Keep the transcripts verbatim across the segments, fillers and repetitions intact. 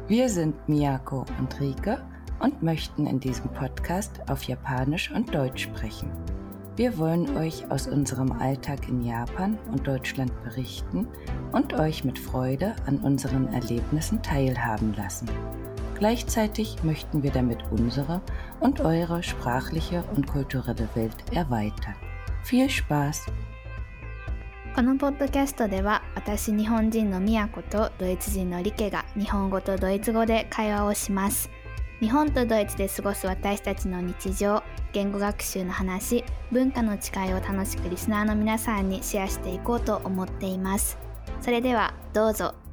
Wir sind Miyako und Rike und möchten in diesem Podcast auf Japanisch und Deutsch sprechen. Wir wollen euch aus unserem Alltag in Japan und Deutschland berichten und euch mit Freude an unseren Erlebnissen teilhaben lassen. Gleichzeitig möchten wir damit unsere und eure sprachliche und kulturelle Welt erweitern. Viel Spaß! このポッドキャストでは私日本人のみやことドイツ人のリケが日本語とドイツ語で会話をします。日本とドイツで過ごす私たちの日常、言語学習の話、文化の違いを楽しくリスナーの皆さんにシェアしていこうと思っています。それではどうぞ。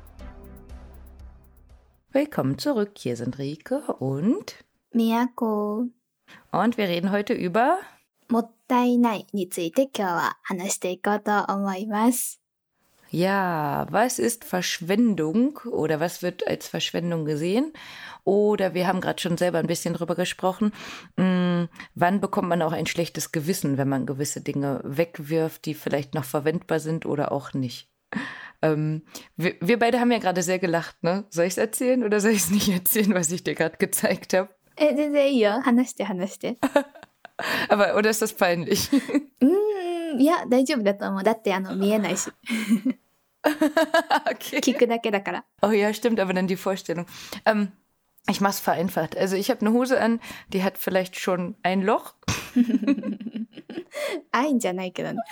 Willkommen zurück, hier sind Rike und みやこ。 Und wir reden heute über もったいないについて今日は話していこうと思います。 Ja, was ist Verschwendung oder was wird als Verschwendung gesehen? Oder wir haben gerade schon selber ein bisschen drüber gesprochen, mh, wann bekommt man auch ein schlechtes Gewissen, wenn man gewisse Dinge wegwirft, die vielleicht noch verwendbar sind oder auch nicht. Ähm, wir, wir beide haben ja gerade sehr gelacht, ne? Soll ich es erzählen oder soll ich es nicht erzählen, was ich dir gerade gezeigt habe? え、全然いいよ。話して話して。 Aber, oder ist das peinlich? うーん、いや、大丈夫だと思う。だってあの見えないし。 Okay. 聞くだけだから。 Oh ja, stimmt, aber dann die Vorstellung. Ähm, ich mach's vereinfacht. Also ich habe eine Hose an, die hat vielleicht schon ein Loch. 愛んじゃないけどね。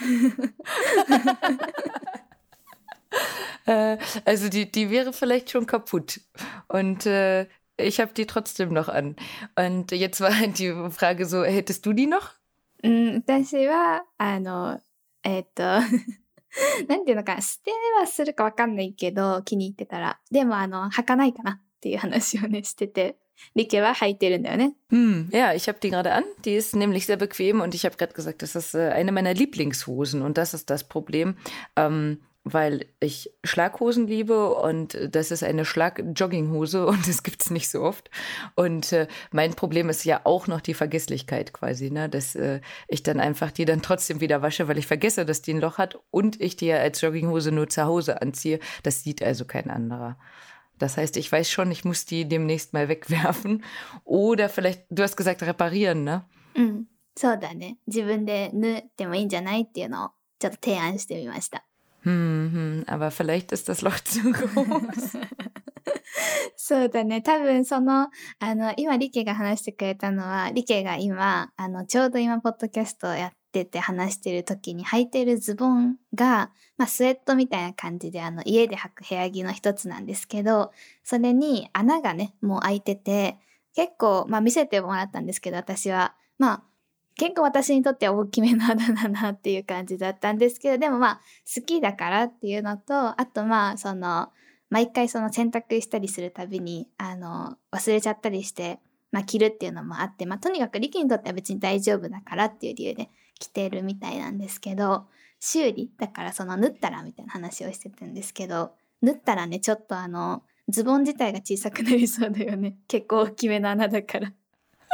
äh, also die, die wäre vielleicht schon kaputt. Und äh, ich habe die trotzdem noch an. Und jetzt war halt die Frage so, hättest du die noch? うん、私は、あの、えっと、なんていうのかな、捨てはするかわかんないけど、気に入ってたら。でも、あの、履かないかなっていう話をね、してて。リケは履いてるんだよね。 Hm, ja, ich habe die gerade an. Die ist nämlich sehr bequem und ich habe gerade gesagt, das ist äh, eine meiner Lieblingshosen und das ist das Problem. Ähm, weil ich Schlaghosen liebe und das ist eine Schlag-Jogginghose und das gibt's nicht so oft. Und äh, mein Problem ist ja auch noch die Vergesslichkeit quasi, ne? Dass äh, ich dann einfach die dann trotzdem wieder wasche, weil ich vergesse, dass die ein Loch hat und ich die ja als Jogginghose nur zu Hause anziehe. Das sieht also kein anderer. Das heißt, ich weiß schon, ich muss die demnächst mal wegwerfen oder vielleicht, du hast gesagt, reparieren, ne? うん、そうだね。自分で縫ってもいいんじゃないっていうのをちょっと提案してみました。 Hm, hm, aber vielleicht ist das Loch zu groß. そうだね。多分その、あの、今リケが話してくれたのは、リケが今、あの、ちょうど今、ポッドキャストをやってて話してる時に履いてるズボンが、まあ、スウェットみたいな感じで、あの、家で履く部屋着の一つなんですけど、それに穴がね、もう開いてて、結構、まあ、見せてもらったんですけど、私は、まあ、結構私にとっては大きめの穴だなっていう感じだったんですけど、でもまあ好きだからっていうのと、あとまあその毎回その洗濯したりするたびにあの忘れちゃったりしてまあ着るっていうのもあって、まあとにかくリキにとっては別に大丈夫だからっていう理由で着てるみたいなんですけど、修理だからその縫ったらみたいな話をしてたんですけど、縫ったらねちょっとあのズボン自体が小さくなりそうだよね。結構大きめの穴だから。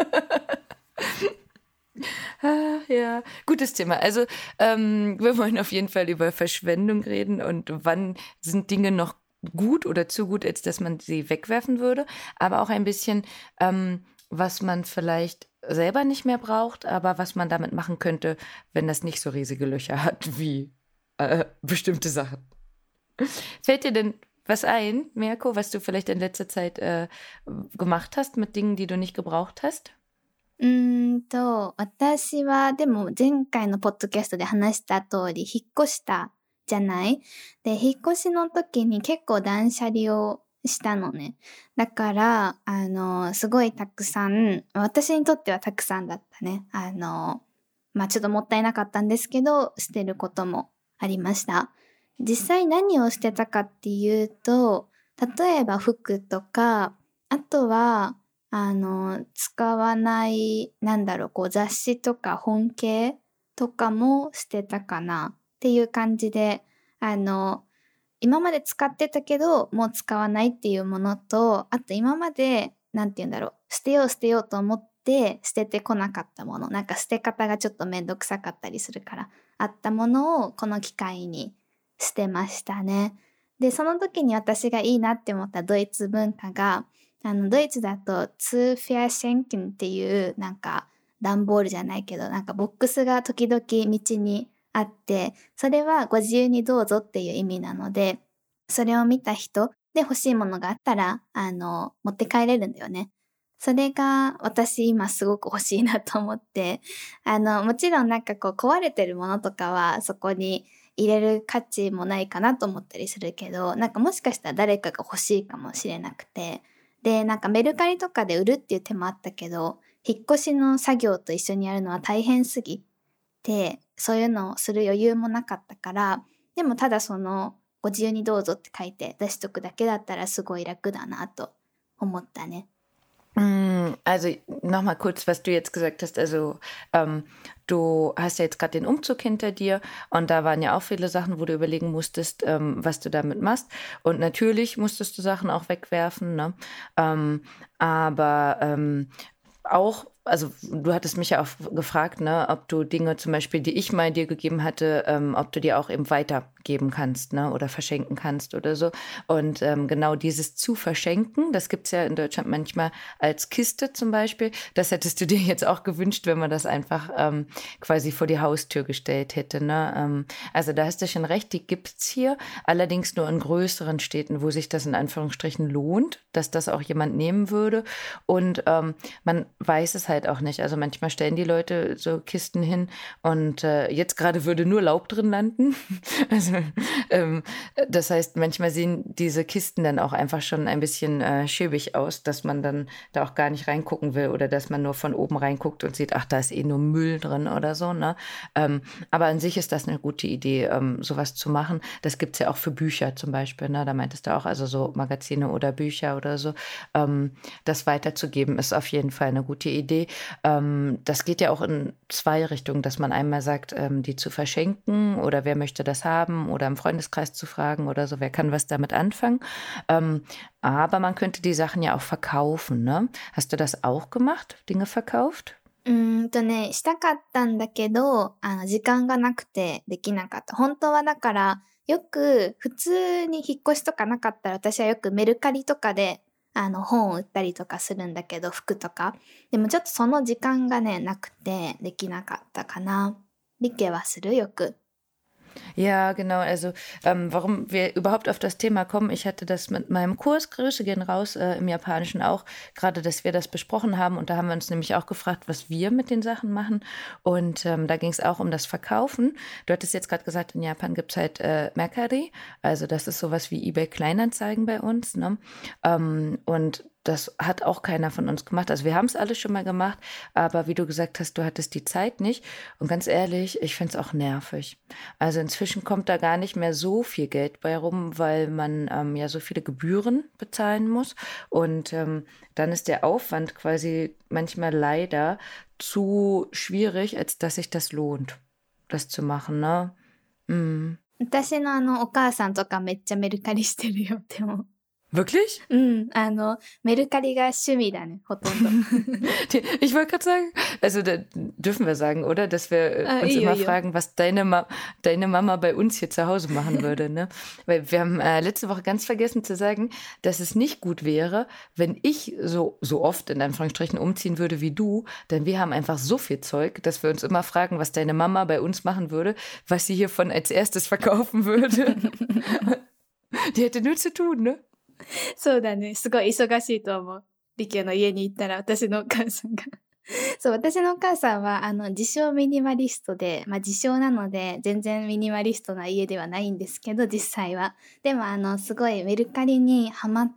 Ah, ja, gutes Thema. Also ähm, wir wollen auf jeden Fall über Verschwendung reden und wann sind Dinge noch gut oder zu gut, als dass man sie wegwerfen würde. Aber auch ein bisschen, ähm, was man vielleicht selber nicht mehr braucht, aber was man damit machen könnte, wenn das nicht so riesige Löcher hat wie äh, bestimmte Sachen. Fällt dir denn was ein, Mirko, was du vielleicht in letzter Zeit äh, gemacht hast mit Dingen, die du nicht gebraucht hast? うーんと、私はでも前回のポッドキャストで話した通り引っ越したじゃない？で、引っ越しの時に結構断捨離をしたのね。だから、あの、すごいたくさん、私にとってはたくさんだったね。あの、まあちょっともったいなかったんですけど、捨てることもありました。実際何を捨てたかっていうと、例えば服とか、あとは、あの、使わない、なんだろう、こう雑誌とか本系とかも捨てたかなっていう感じで、あの、今まで使ってたけど、もう使わないっていうものと、あと今まで、なんて言うんだろう、捨てよう捨てようと思って捨ててこなかったもの、なんか捨て方がちょっとめんどくさかったりするから、あったものをこの機会に捨てましたね。 で、その時に私がいいなって思ったドイツ文化が、あの、ドイツだと、ツーフェアシェンケンっていう、なんか、段ボールじゃないけど、なんかボックスが時々道にあって、それはご自由にどうぞっていう意味なので、それを見た人で欲しいものがあったら、あの、持って帰れるんだよね。それが私今すごく欲しいなと思って、あの、もちろんなんかこう壊れてるものとかはそこに入れる価値もないかなと思ったりするけど、なんかもしかしたら誰かが欲しいかもしれなくて、で、なんかメルカリとかで売るっていう手もあったけど、引っ越しの作業と一緒にやるのは大変すぎて、そういうのをする余裕もなかったから、でもただその、ご自由にどうぞって書いて出しとくだけだったらすごい楽だなと思ったね。 Also nochmal kurz, was du jetzt gesagt hast. Also ähm, du hast ja jetzt gerade den Umzug hinter dir und da waren ja auch viele Sachen, wo du überlegen musstest, ähm, was du damit machst. Und natürlich musstest du Sachen auch wegwerfen, ne? Ähm, aber ähm, auch, also du hattest mich ja auch gefragt, ne, ob du Dinge zum Beispiel, die ich mal dir gegeben hatte, ähm, ob du die auch eben weitergeben kannst, ne, oder verschenken kannst oder so. Und ähm, genau dieses zu verschenken, das gibt's ja in Deutschland manchmal als Kiste zum Beispiel. Das hättest du dir jetzt auch gewünscht, wenn man das einfach ähm, quasi vor die Haustür gestellt hätte, ne? Ähm, also da hast du schon recht, die gibt's hier, allerdings nur in größeren Städten, wo sich das in Anführungsstrichen lohnt, dass das auch jemand nehmen würde. Und ähm, man weiß es halt auch nicht. Also manchmal stellen die Leute so Kisten hin und äh, jetzt gerade würde nur Laub drin landen. Also ähm, das heißt, manchmal sehen diese Kisten dann auch einfach schon ein bisschen äh, schäbig aus, dass man dann da auch gar nicht reingucken will oder dass man nur von oben reinguckt und sieht, ach, da ist eh nur Müll drin oder so, ne? Ähm, aber an sich ist das eine gute Idee, ähm, sowas zu machen. Das gibt's ja auch für Bücher zum Beispiel, ne? Da meintest du auch, also so Magazine oder Bücher oder so. Ähm, das weiterzugeben ist auf jeden Fall eine gute Idee. Ähm, das geht ja auch in zwei Richtungen, dass man einmal sagt, ähm, die zu verschenken oder wer möchte das haben oder im Freundeskreis zu fragen oder so, wer kann was damit anfangen. Ähm, aber man könnte die Sachen ja auch verkaufen, ne? Hast du das auch gemacht? Dinge verkauft? うーんとね、したかったんだけど、あの、時間がなくてできなかった。本当はだから、よく普通に引っ越しとかなかったら私はよくメルカリとかであの本を売ったりとかするんだけど、服とか。でもちょっとその時間がね、なくてできなかったかな。リケはするよく。 Ja, genau. Also ähm, warum wir überhaupt auf das Thema kommen, ich hatte das mit meinem Kurs, Grüße gehen raus, äh, im Japanischen auch, gerade, dass wir das besprochen haben. Und da haben wir uns nämlich auch gefragt, was wir mit den Sachen machen. Und ähm, da ging es auch um das Verkaufen. Du hattest jetzt gerade gesagt, in Japan gibt es halt äh, Mercari. Also das ist sowas wie eBay Kleinanzeigen bei uns. Ne? Ähm, und das hat auch keiner von uns gemacht. Also wir haben es alle schon mal gemacht, aber wie du gesagt hast, du hattest die Zeit nicht. Und ganz ehrlich, ich finde es auch nervig. Also inzwischen kommt da gar nicht mehr so viel Geld bei rum, weil man ähm, ja so viele Gebühren bezahlen muss. Und ähm, dann ist der Aufwand quasi manchmal leider zu schwierig, als dass sich das lohnt, das zu machen, ne? Mm. 私のあの、お母さんとかめっちゃメルカリしてるよ、でも。 Wirklich? うん、あの、メルカリが趣味だね、ほとんど。 Ich wollte gerade sagen, also da dürfen wir sagen, oder? Dass wir Ah, uns io, immer io. fragen, was deine, Ma deine Mama bei uns hier zu Hause machen würde, ne? Weil wir haben äh, letzte Woche ganz vergessen zu sagen, dass es nicht gut wäre, wenn ich so, so oft in Anführungsstrichen umziehen würde wie du, denn wir haben einfach so viel Zeug, dass wir uns immer fragen, was deine Mama bei uns machen würde, was sie hiervon als erstes verkaufen würde. Die hätte nur zu tun, ne? そうだね。すごい忙しいと思う。リケの家に行ったら私のお母さんが。そう、私のお母さんは、あの、自称ミニマリストで、まあ自称なので、全然ミニマリストな家ではないんですけど、実際は。でも、あの、すごいメルカリにハマって、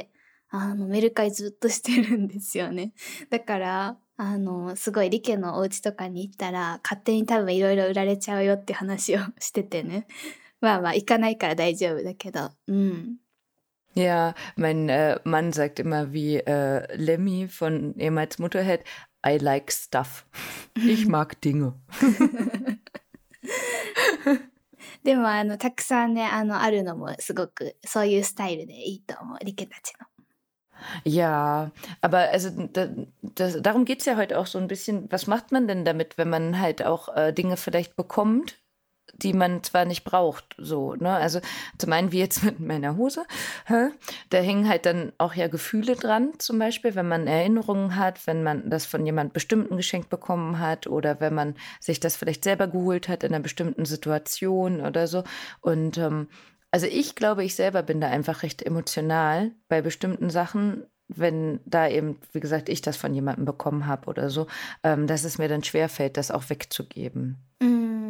あの、メルカリずっとしてるんですよね。だから、あの、すごいリケのお家とかに行ったら、勝手に多分いろいろ売られちゃうよって話をしててね。まあまあ、行かないから大丈夫だけど、うん。 Ja, mein äh, Mann sagt immer wie äh, Lemmy von ehemals Motorhead, I like stuff. Ich mag Dinge. でも、あの、たくさんね、あの、あるのもすごく、そういうスタイルでいいと思う、リケたちの。 Ja, aber also da, das, darum geht's ja heute auch so ein bisschen. Was macht man denn damit, wenn man halt auch äh, Dinge vielleicht bekommt, die man zwar nicht braucht, so, ne? Also zum einen wie jetzt mit meiner Hose, hä? Da hängen halt dann auch ja Gefühle dran, zum Beispiel, wenn man Erinnerungen hat, wenn man das von jemand Bestimmten geschenkt bekommen hat oder wenn man sich das vielleicht selber geholt hat in einer bestimmten Situation oder so. Und ähm, also ich glaube, ich selber bin da einfach recht emotional bei bestimmten Sachen, wenn da eben, wie gesagt, ich das von jemandem bekommen habe oder so, ähm, dass es mir dann schwerfällt, das auch wegzugeben. うん。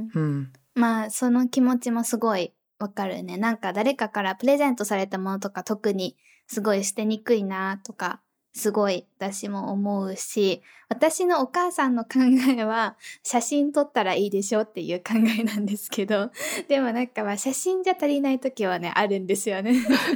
Hm. まあその気持ちもすごいわかるね。なんか誰かからプレゼントされたものとか特にすごい捨てにくいなとかすごい私も思うし、私のお母さんの考えは写真撮ったらいいでしょっていう考えなんですけど、でもなんかまあ写真じゃ足りない時はねあるんですよね。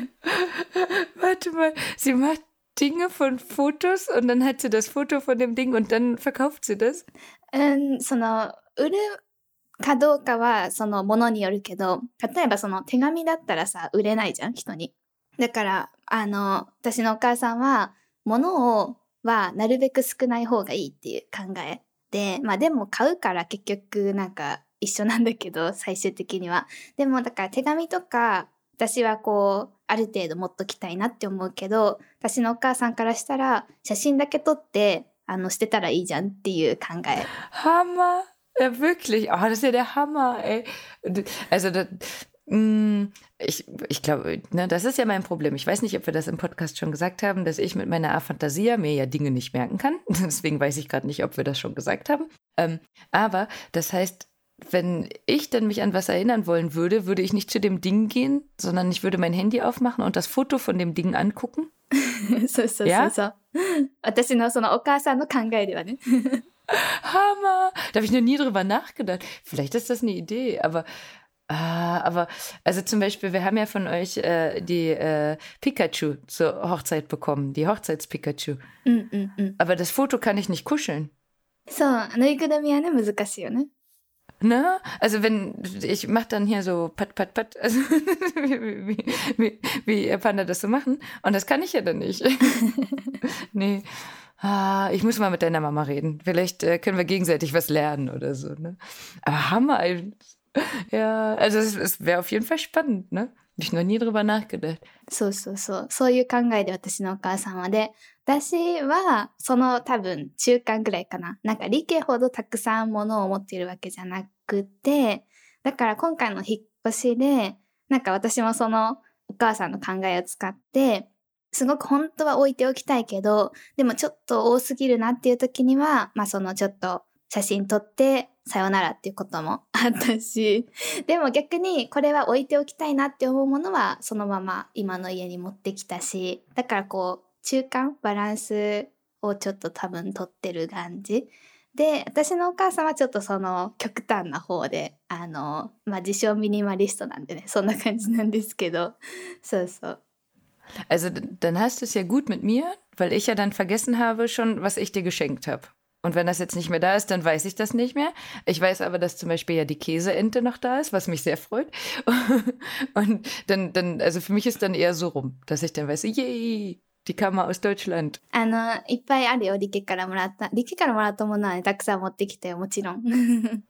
Warte mal, sie macht Dinge von Fotos und dann hat sie das Foto von dem Ding und dann verkauft sie das? うん、その売るかどうかはそのものによるけど、例えばその手紙だったらさ売れないじゃん人に。だからあの私のお母さんは物をはなるべく少ない方がいいっていう考えで、まあでも買うから結局なんか一緒なんだけど最終的には。でもだから手紙とか私はこうある程度持っときたいなって思うけど、私のお母さんからしたら写真だけ撮ってあの捨てたらいいじゃんっていう考え。 Hammer! Ja, wirklich. Oh, das ist ja der Hammer, ey. Also, das, mh, ich, ich glaube, ne, das ist ja mein Problem. Ich weiß nicht, ob wir das im Podcast schon gesagt haben, dass ich mit meiner Aphantasia mir ja Dinge nicht merken kann. Deswegen weiß ich gerade nicht, ob wir das schon gesagt haben. Ähm, aber das heißt, wenn ich dann mich an was erinnern wollen würde, würde ich nicht zu dem Ding gehen, sondern ich würde mein Handy aufmachen und das Foto von dem Ding angucken. そうそうそうそう。私のそのお母さんの考えではね。 Hammer! Da habe ich noch nie drüber nachgedacht. Vielleicht ist das eine Idee, aber, ah, aber, also zum Beispiel, wir haben ja von euch äh, die äh, Pikachu zur Hochzeit bekommen, die Hochzeits-Pikachu. うんうんうん。 Aber das Foto kann ich nicht kuscheln. そう、ぬいぐるみはね難しいよね。 Ne? Also wenn, ich mache dann hier so pat, pat, pat, also wie, wie, wie, wie Panda das so machen. Und das kann ich ja dann nicht. Nee. Ah, ich muss mal mit deiner Mama reden. Vielleicht äh, können wir gegenseitig was lernen oder so, ne? Aber Hammer. Ja, also es, es wäre auf jeden Fall spannend, ne? Hab ich noch nie drüber nachgedacht. そうそうそう。そういう考えで私のお母さんはで、私はその多分中間ぐらいかな。なんか理系ほどたくさん物を持っているわけじゃなくて、だから今回の引っ越しで、なんか私もそのお母さんの考えを使って、すごく本当は置いておきたいけど、でもちょっと多すぎるなっていう時には、まあそのちょっと写真撮ってさよならっていうこともあったし、でも逆にこれは置いておきたいなって思うものはそのまま今の家に持ってきたし、だからこう中間バランスをちょっと多分取ってる感じで、私のお母さんはちょっとその極端な方で、あのまあ自称ミニマリストなんでね、そんな感じなんですけど、そうそう。 Also dann hast du es ja gut mit mir, weil ich ja dann vergessen habe schon, was ich dir geschenkt habe. Und wenn das jetzt nicht mehr da ist, dann weiß ich das nicht mehr. Ich weiß aber, dass zum Beispiel ja die Käseente noch da ist, was mich sehr freut. Und dann, dann, also für mich ist dann eher so rum, dass ich dann weiß, yay, die kam mal aus Deutschland. あのいっぱいあるよ、リケからもらった。リケからもらったものはね、たくさん持ってきたよ、もちろん。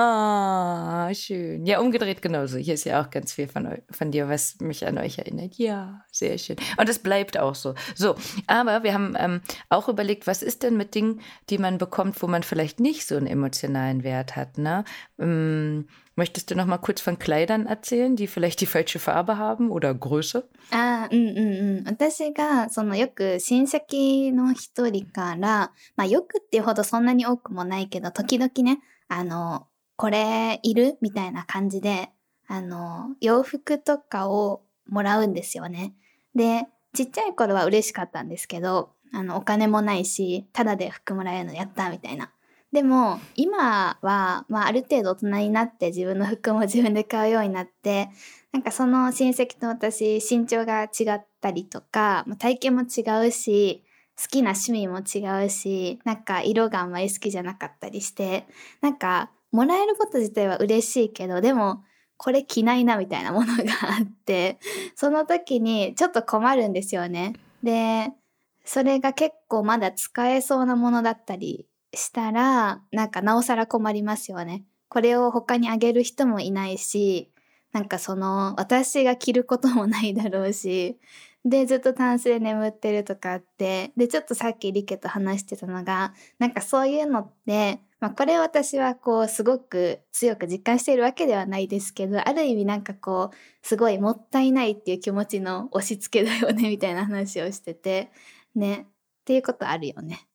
Ah, schön. Ja, umgedreht genauso. Hier ist ja auch ganz viel von, eu- von dir, was mich an euch erinnert. Ja, sehr schön. Und es bleibt auch so. So, aber wir haben ähm, auch überlegt, was ist denn mit Dingen, die man bekommt, wo man vielleicht nicht so einen emotionalen Wert hat, ne? Ähm, möchtest du noch mal kurz von Kleidern erzählen, die vielleicht die falsche Farbe haben oder Größe? ああ、うんうんうん。私が、そのよく親戚の一人から、まあよくっていうほどそんなに多くもないけど、時々ね、あの、これいるみたいな感じで、あの、洋服とかをもらうんですよね。で、ちっちゃい頃は嬉しかったんですけど、あの、お金もないし、ただで服もらえるのやったみたいな。でも、今は、まあある程度大人になって自分の服も自分で買うようになって、なんかその親戚と私身長が違ったりとか、まあ体型も違うし、好きな趣味も違うし、なんか色があんまり好きじゃなかったりして、なんかもらえること自体は嬉しいけど、でもこれ着ないなみたいなものがあって、その時にちょっと困るんですよね。で、それが結構まだ使えそうなものだったりしたら、なんかなおさら困りますよね。 これを他にあげる人もいないし、なんかその私が着ることもないだろうし、でずっとタンスで眠ってるとかあって、でちょっとさっきリケと話してたのが、なんかそういうのって、まあ、これ私はこうすごく強く実感しているわけではないですけど、ある意味なんかこうすごいもったいないっていう気持ちの押し付けだよねみたいな話をしててね、っていうことあるよね。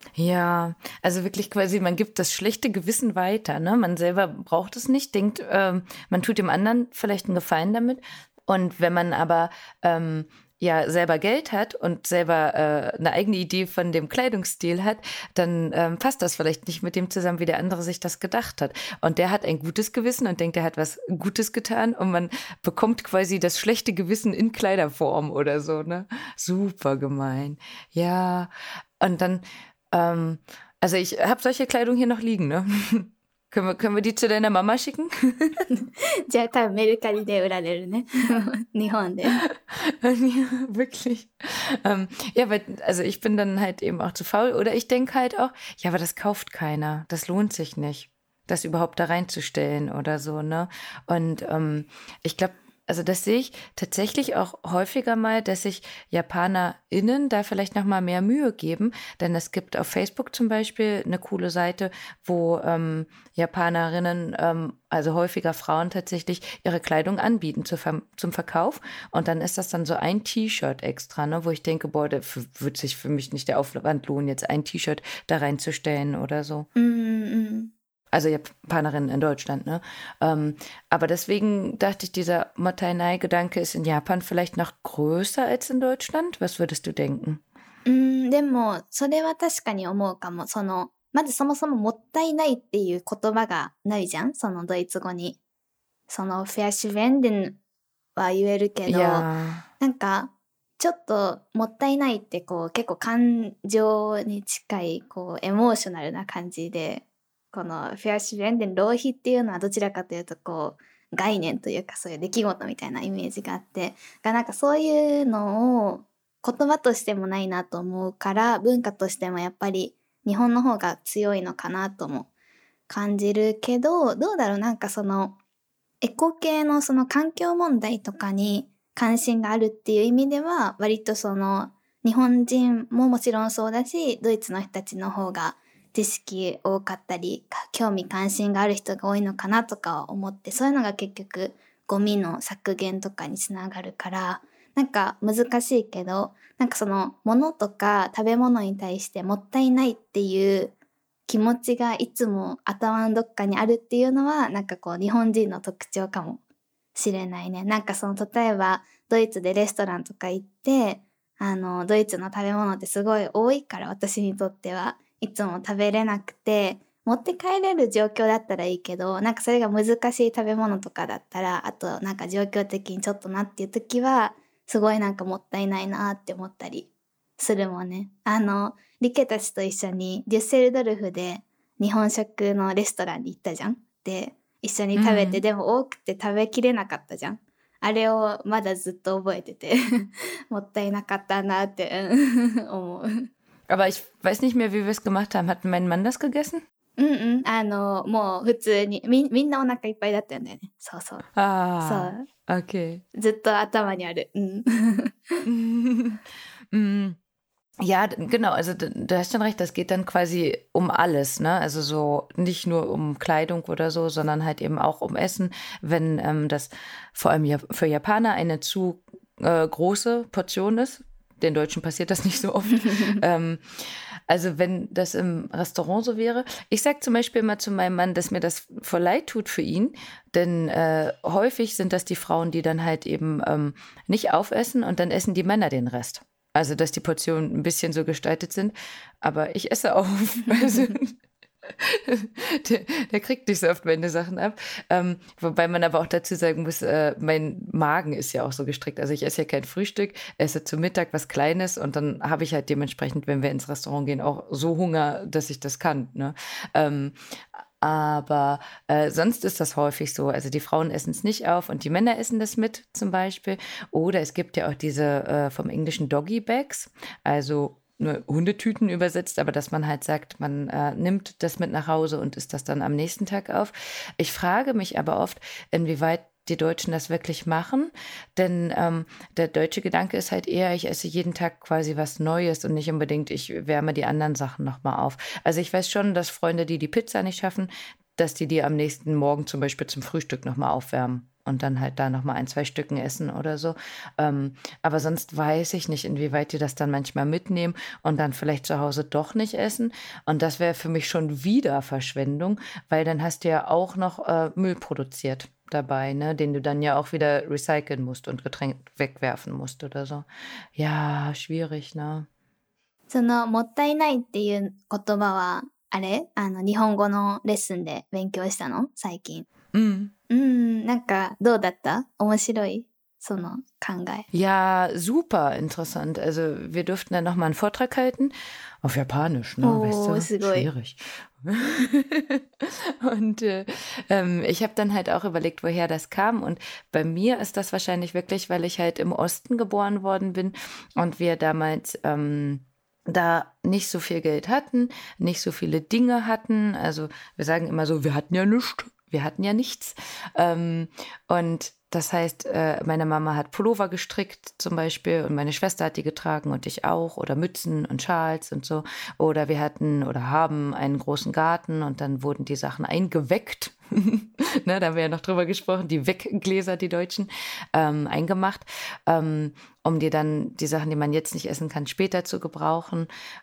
Ja, also wirklich quasi, man gibt das schlechte Gewissen weiter, ne? Man selber braucht es nicht, denkt, ähm, man tut dem anderen vielleicht einen Gefallen damit. Und wenn man aber ähm, ja selber Geld hat und selber äh, eine eigene Idee von dem Kleidungsstil hat, dann ähm, passt das vielleicht nicht mit dem zusammen, wie der andere sich das gedacht hat. Und der hat ein gutes Gewissen und denkt, er hat was Gutes getan und man bekommt quasi das schlechte Gewissen in Kleiderform oder so, ne? Super gemein. Ja, und dann ähm, also ich habe solche Kleidung hier noch liegen, ne? Können wir, können wir die zu deiner Mama schicken? じゃあ多分メルカリで売られるね。日本で。 Ja, wirklich. Ähm, ja, weil, also ich bin dann halt eben auch zu faul. Oder ich denke halt auch, ja, aber das kauft keiner. Das lohnt sich nicht, das überhaupt da reinzustellen oder so, ne? Und ähm, ich glaube, also das sehe ich tatsächlich auch häufiger mal, dass sich JapanerInnen da vielleicht noch mal mehr Mühe geben. Denn es gibt auf Facebook zum Beispiel eine coole Seite, wo ähm, Japanerinnen, ähm, also häufiger Frauen tatsächlich, ihre Kleidung anbieten zu ver- zum Verkauf. Und dann ist das dann so ein T-Shirt extra, ne, wo ich denke, boah, da wird sich für mich nicht der Aufwand lohnen, jetzt ein T-Shirt da reinzustellen oder so. Mm-mm. Also Japanerinnen in Deutschland, ne? Ähm, aber deswegen dachte ich, dieser Mottainai-Gedanke ist in Japan vielleicht noch größer als in Deutschland. Was würdest du denken? うーん、でも、それは確かに思うかも。その、まずそもそももったいないっていう言葉がないじゃん、そのドイツ語に。その、フェアシュベンデンは言えるけど、 Ja. なんか、ちょっともったいないってこう結構感情に近いこうエモーショナルな感じで、このフェアシュベンデン浪費っていうのはどちらかというとこう概念というかそういう出来事みたいなイメージがあって、がなんかそういうのを言葉としてもないなと思うから、文化としてもやっぱり日本の方が強いのかなとも感じるけど、どうだろう、なんかそのエコ系のその環境問題とかに関心があるっていう意味では割とその日本人ももちろんそうだし、ドイツの人たちの方が知識多かったり興味関心がある人が多いのかなとかは思って、そういうのが結局ゴミの削減とかにつながるから、なんか難しいけど、なんかその物とか食べ物に対してもったいないっていう気持ちがいつも頭のどっかにあるっていうのはなんかこう日本人の特徴かもしれないね。なんかその例えばドイツでレストランとか行って、あのドイツの食べ物ってすごい多いから、私にとってはいつも食べれなくて、持って帰れる状況だったらいいけど、なんかそれが難しい食べ物とかだったら、あとなんか状況的にちょっとなっていう時はすごいなんかもったいないなって思ったりするもんね。あのリケたちと一緒にデュッセルドルフで日本食のレストランに行ったじゃん。で一緒に食べて、うん、でも多くて食べきれなかったじゃん。あれをまだずっと覚えててもったいなかったなって思う。 Aber ich weiß nicht mehr, wie wir es gemacht haben. Hat mein Mann das gegessen? うんうん。あの、もう普通に、み、みんなお腹いっぱいだったんだよね。そうそう。 Ah, そう。Okay. ずっと頭にある。 うん。Ja, genau, also du hast schon recht, das geht dann quasi um alles, ne? Also so nicht nur um Kleidung oder so, sondern halt eben auch um Essen. Wenn ähm, das vor allem ja für Japaner eine zu äh, große Portion ist, den Deutschen passiert das nicht so oft. ähm, also wenn das im Restaurant so wäre. Ich sage zum Beispiel immer zu meinem Mann, dass mir das voll leid tut für ihn, denn äh, häufig sind das die Frauen, die dann halt eben ähm, nicht aufessen und dann essen die Männer den Rest. Also, dass die Portionen ein bisschen so gestaltet sind, aber ich esse auf. Also, der, der kriegt nicht so oft meine Sachen ab. Ähm, wobei man aber auch dazu sagen muss, äh, mein Magen ist ja auch so gestrickt. Also ich esse ja kein Frühstück, esse zu Mittag was Kleines und dann habe ich halt dementsprechend, wenn wir ins Restaurant gehen, auch so Hunger, dass ich das kann. Ne? Ähm, Aber äh, sonst ist das häufig so. Also die Frauen essen es nicht auf und die Männer essen das mit zum Beispiel. Oder es gibt ja auch diese äh, vom Englischen Doggy Bags. Also nur Hundetüten übersetzt, aber dass man halt sagt, man äh, nimmt das mit nach Hause und isst das dann am nächsten Tag auf. Ich frage mich aber oft, inwieweit die Deutschen das wirklich machen, denn ähm, der deutsche Gedanke ist halt eher, ich esse jeden Tag quasi was Neues und nicht unbedingt, ich wärme die anderen Sachen nochmal auf. Also ich weiß schon, dass Freunde, die die Pizza nicht schaffen, dass die die am nächsten Morgen zum Beispiel zum Frühstück nochmal aufwärmen und dann halt da nochmal ein, zwei Stücken essen oder so. Ähm, aber sonst weiß ich nicht, inwieweit die das dann manchmal mitnehmen und dann vielleicht zu Hause doch nicht essen. Und das wäre für mich schon wieder Verschwendung, weil dann hast du ja auch noch äh, Müll produziert dabei, ne, den du dann ja auch wieder recyceln musst und getrennt wegwerfen musst oder so. Ja, schwierig, ne? そのもったいないっていう言葉は、あれあの日本語のレッスンで勉強したの最近。 Mm. うん、なんかどうだった面白いその考え。 Ja, super interessant. Also wir durften dann nochmal einen Vortrag halten. Auf Japanisch, ne? Oh, weißt du? ist gut. Schwierig. Und äh, ähm, ich habe dann halt auch überlegt, woher das kam. Und bei mir ist das wahrscheinlich wirklich, weil ich halt im Osten geboren worden bin und wir damals ähm, da nicht so viel Geld hatten, nicht so viele Dinge hatten. Also wir sagen immer so, wir hatten ja nichts. Wir hatten ja nichts. Ähm, und das heißt, äh, meine Mama hat Pullover gestrickt zum Beispiel und meine Schwester hat die getragen und ich auch oder Mützen und Schals und so. Oder wir hatten oder haben einen großen Garten und dann wurden die Sachen eingeweckt. Ne, da haben wir ja noch drüber gesprochen, die Weggläser, die Deutschen, ähm, eingemacht, ähm, um dir dann die Sachen, die man jetzt nicht essen kann, später zu gebrauchen.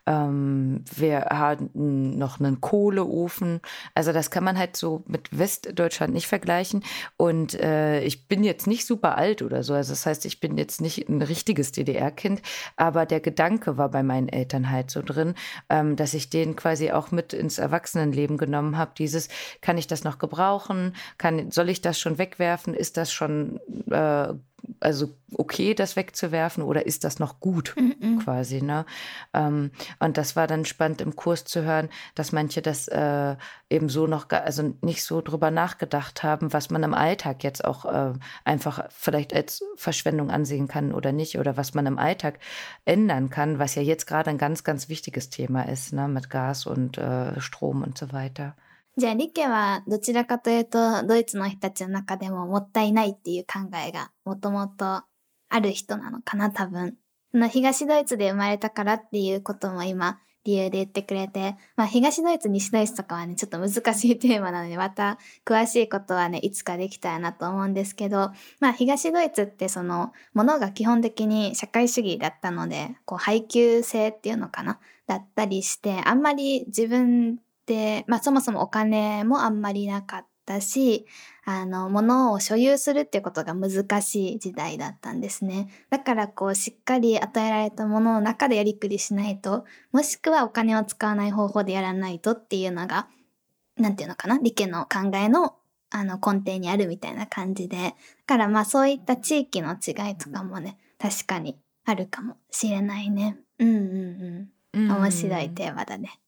Ähm, wir hatten noch einen Kohleofen. Also das kann man halt so mit Westdeutschland nicht vergleichen. Und äh, ich bin jetzt nicht super alt oder so. Also das heißt, ich bin jetzt nicht ein richtiges D D R-Kind, aber der Gedanke war bei meinen Eltern halt so drin, ähm, dass ich den quasi auch mit ins Erwachsenenleben genommen habe. Dieses, kann ich das noch gebrauchen? Kann, soll ich das schon wegwerfen? Ist das schon äh, also okay, das wegzuwerfen oder ist das noch gut Mhm. quasi, ne? Ähm, und das war dann spannend im Kurs zu hören, dass manche das äh, eben so noch, ga- also nicht so drüber nachgedacht haben, was man im Alltag jetzt auch äh, einfach vielleicht als Verschwendung ansehen kann oder nicht oder was man im Alltag ändern kann, was ja jetzt gerade ein ganz, ganz wichtiges Thema ist, ne? Mit Gas und äh, Strom und so weiter. じゃあリケはどちらかというとドイツの人たちの中でももったいないっていう考えがもともとある人なのかな多分。その東ドイツで生まれたからっていうことも今理由で言ってくれて、まあ東ドイツ西ドイツとかはねちょっと難しいテーマなのでまた詳しいことはねいつかできたらなと思うんですけど、まあ東ドイツってそのものが基本的に社会主義だったのでこう配給制っていうのかなだったりしてあんまり自分で、まあそもそもお金もあんまりなかったし、あの、物を所有するっていうことが難しい時代だったんですね。だからこう、しっかり与えられたものの中でやりくりしないと、もしくはお金を使わない方法でやらないとっていうのが、なんていうのかな、理系の考えの、あの、根底にあるみたいな感じで、だからまあそういった地域の違いとかもね、確かにあるかもしれないね。うんうんうん。面白いテーマだね。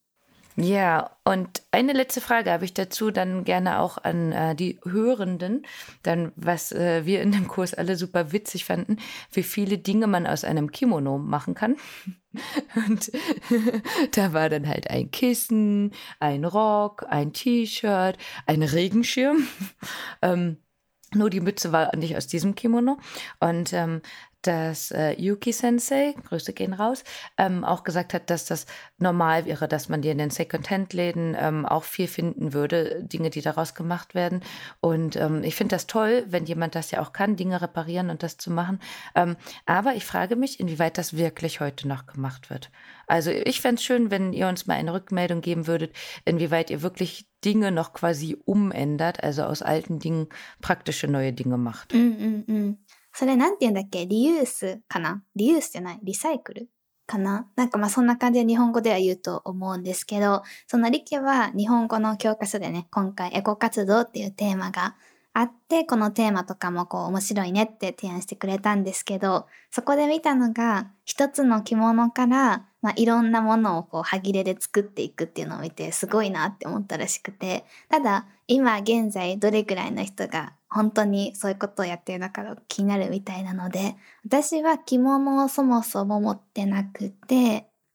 Ja, und eine letzte Frage habe ich dazu dann gerne auch an äh, die Hörenden, dann was äh, wir in dem Kurs alle super witzig fanden, wie viele Dinge man aus einem Kimono machen kann. Und da war dann halt ein Kissen, ein Rock, ein T-Shirt, ein Regenschirm. ähm, nur die Mütze war nicht aus diesem Kimono. Und ähm, dass äh, Yuki Sensei, Grüße gehen raus, ähm, auch gesagt hat, dass das normal wäre, dass man die in den Second-Hand-Läden ähm, auch viel finden würde, Dinge, die daraus gemacht werden. Und ähm, ich finde das toll, wenn jemand das ja auch kann, Dinge reparieren und das zu machen. Ähm, aber ich frage mich, inwieweit das wirklich heute noch gemacht wird. Also ich fände es schön, wenn ihr uns mal eine Rückmeldung geben würdet, inwieweit ihr wirklich Dinge noch quasi umändert, also aus alten Dingen praktische neue Dinge macht. うんうんうん。それなんて言うんだっけリユースかなリユースじゃないリサイクルかななんかまあそんな感じで日本語では言うと思うんですけど、そのリケは日本語の教科書でね、今回エコ活動っていうテーマがあって、このテーマとかもこう面白いねって提案してくれたんですけど、そこで見たのが一つの着物からまあいろんなものをこう歯切れで作っていくっていうのを見てすごいなって思ったらしくて、ただ今現在どれくらいの人が本当にそういうことをやってるのかが気になるみたいなので、私は着物をそもそも持ってなくて、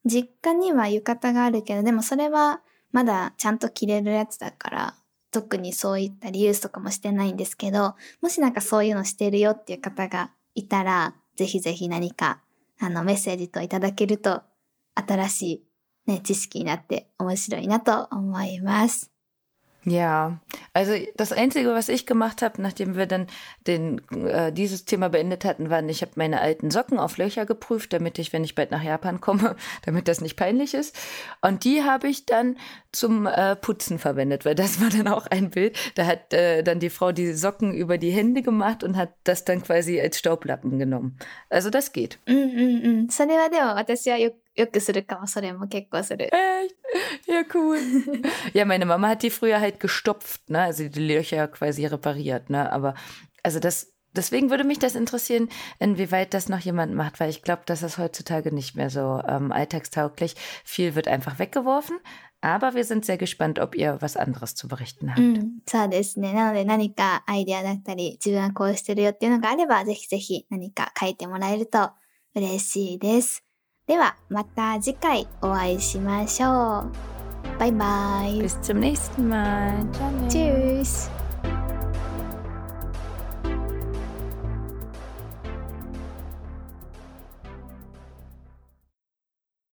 実家には浴衣があるけど、でもそれはまだちゃんと着れるやつだから、特にそういったリユースとかもしてないんですけど、もしなんかそういうのしてるよっていう方がいたら、ぜひぜひ何かあのメッセージといただけると、新しい、ね、知識になって面白いなと思います。 Ja, also das Einzige, was ich gemacht habe, nachdem wir dann den, äh, dieses Thema beendet hatten, war, ich habe meine alten Socken auf Löcher geprüft, damit ich, wenn ich bald nach Japan komme, damit das nicht peinlich ist. Und die habe ich dann zum äh, Putzen verwendet, weil das war dann auch ein Bild. Da hat äh, dann die Frau die Socken über die Hände gemacht und hat das dann quasi als Staublappen genommen. Also das geht. うんうんうん。それはでも私はよよくするかも。それも結構する。 Echt? Ja, cool. Ja, meine Mama hat die früher halt gestopft, ne? Also die Löcher quasi repariert, ne? Aber also das, deswegen würde mich das interessieren, inwieweit das noch jemand macht, weil ich glaube, das ist heutzutage nicht mehr so ähm, alltagstauglich. Viel wird einfach weggeworfen. Aber wir sind sehr gespannt, ob ihr was anderes zu berichten habt. うん、そうですね。なので何かアイデアだったり、自分はこうしてるよっていうのがあれば、ぜひぜひ何か書いてもらえると嬉しいです。では、また次回お会いしましょう。バイバイ。 Bis zum nächsten Mal. Ciao. Tschüss.